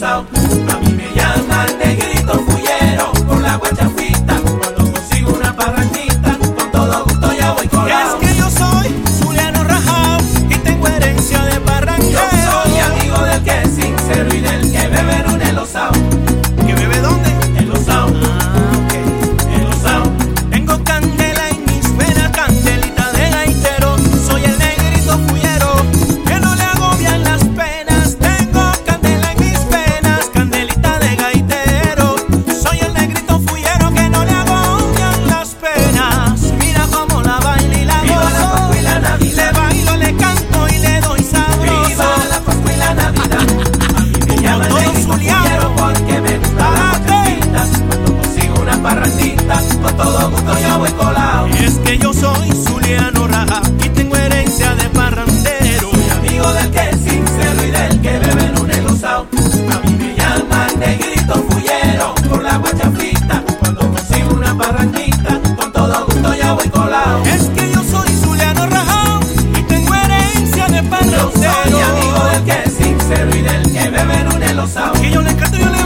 enelosao. A mí me llaman negrito fullero por la guachafita. Cuando consigo una parranquita, con todo gusto ya voy colado. Es que yo soy zuliano rajao y tengo herencia de parranquero. Yo soy amigo del que es sincero y del que bebe en un enelosao. ¿Que bebe dónde? Enelosao. Enelosao. Tengo candela en mis venas, candelita de gaitero. Soy el negrito fullero que no le agobian las penas. Tengo candela en mis venas, candelita de gaitero. Soy el negrito fullero que no le agobian las penas. Mira cómo la baila y la Viva la gozo. Pascua y la Navidad. Le bailo, le canto y le doy sabroso. Viva la Pascua y la Navidad. A mí me llaman todo negrito zuliano. fullero porque me gusta la guachafita. Cuando consigo una parranquita, con todo gusto ya voy colado. Y es que yo soy zuliano raja y tengo herencia de parrandero. Soy amigo del que es sincero y del que bebe en un enelosao. A mí me llaman negrito fullero por la guachafita. Cuando consigo una parranquita, con todo gusto ya voy colado. Es que yo soy zuliano rajao y tengo herencia de Yo parrandero. soy amigo del que es sincero y del que bebe en un enelosao. Y yo le canto y yo le